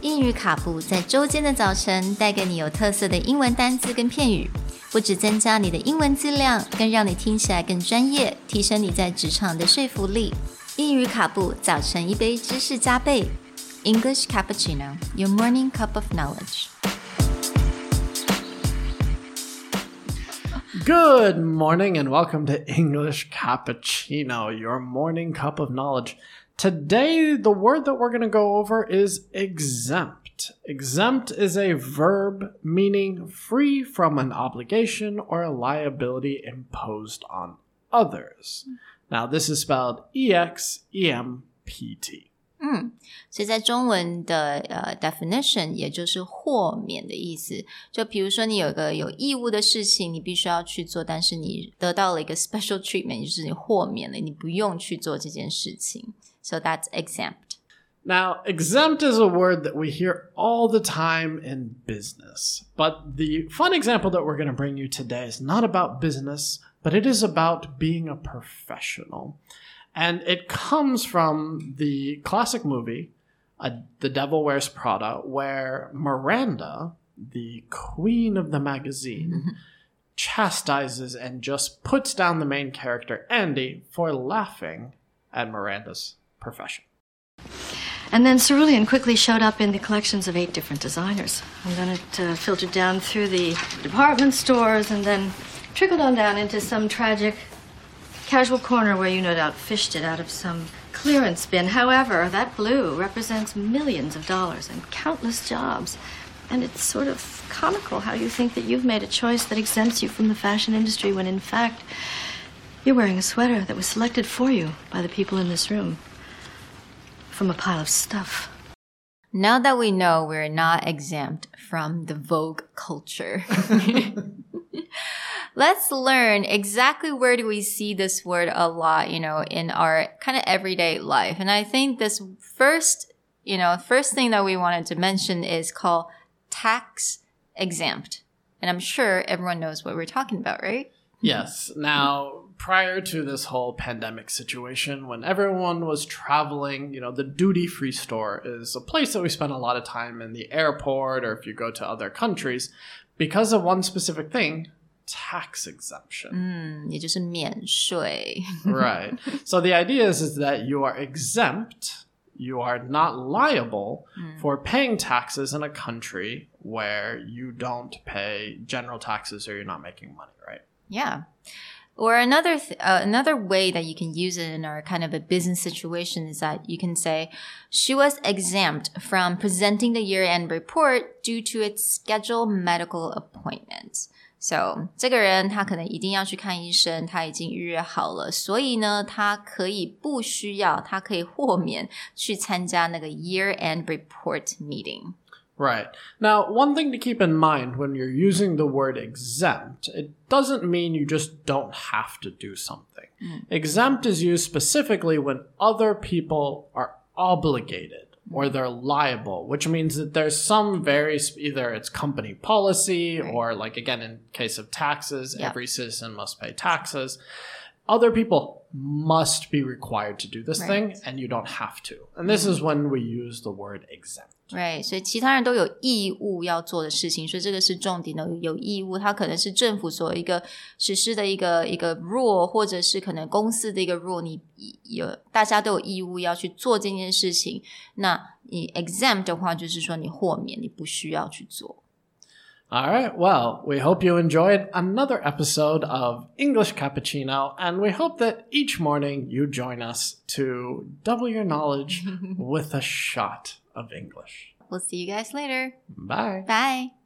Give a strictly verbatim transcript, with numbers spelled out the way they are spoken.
英语卡布在周间的早晨带给你有特色的英文单字跟片语，不只增加你的英文质量，更让你听起来更专业，提升你在职场的说服力。英语卡布早晨一杯知识加倍 English Cappuccino, your morning cup of knowledge. Good morning and welcome to English Cappuccino, your morning cup of knowledge. Today, the word that we're going to go over is exempt. Exempt is a verb meaning free from an obligation or a liability imposed on others. Now, this is spelled E X E M P T. 嗯，所以在中文的呃 definition 也就是豁免的意思。就比如说你有一个有义务的事情，你必须要去做，但是你得到了一个 special treatment， 就是你豁免了，你不用去做这件事情。So that's exempt. Now, exempt is a word that we hear all the time in business. But the fun example that we're going to bring you today is not about business, but it is about being a professional. And it comes from the classic movie, uh, The Devil Wears Prada, where Miranda, the queen of the magazine, chastises and just puts down the main character, Andy, for laughing at Miranda's profession. And then cerulean quickly showed up in the collections of eight different designers. And then it uh, filtered down through the department stores and then trickled on down into some tragic casual corner where you no doubt fished it out of some clearance bin. However, that blue represents millions of dollars and countless jobs. And it's sort of comical how you think that you've made a choice that exempts you from the fashion industry when in fact you're wearing a sweater that was selected for you by the people in this room from a pile of stuff. Now that we know we're not exempt from the Vogue culture, let's learn exactly where do we see this word a lot, you know, in our kind of everyday life. And I think this first, you know, first thing that we wanted to mention is called tax exempt. And I'm sure everyone knows what we're talking about, right? Yes. Now, prior to this whole pandemic situation, when everyone was traveling, you know, the duty-free store is a place that we spend a lot of time in the airport or if you go to other countries because of one specific thing, tax exemption. 嗯，也就是免税。 Right. So the idea is, is that you are exempt, you are not liable mm. for paying taxes in a country where you don't pay general taxes or you're not making money, right? Yeah. Or another th- uh, another way that you can use it in our kind of a business situation is that you can say, she was exempt from presenting the year-end report due to its scheduled medical appointments. So, 这个人他可能一定要去看医生，他已经预约好了，所以呢，他可以不需要，他可以豁免去参加那个 year-end report meeting. Right. Now, one thing to keep in mind when you're using the word exempt, it doesn't mean you just don't have to do something. Mm. Exempt is used specifically when other people are obligated or they're liable, which means that there's some very, either it's company policy right. or like, again, in case of taxes, yep. every citizen must pay taxes. Other people must be required to do this right. thing, and you don't have to. And this mm. is when we use the word exempt. Right, 所以其他人都有义务要做的事情，所以这个是重点的，有义务，它可能是政府所一个实施的一个一个 rule， 或者是可能公司的一个 rule， 你有大家都有义务要去做这件事情。那你 exempt 的话，就是说你豁免，你不需要去做。 All right, well, we hope you enjoyed another episode of English Cappuccino, and we hope that each morning you join us to double your knowledge with a shot of English. We'll see you guys later. Bye. Bye.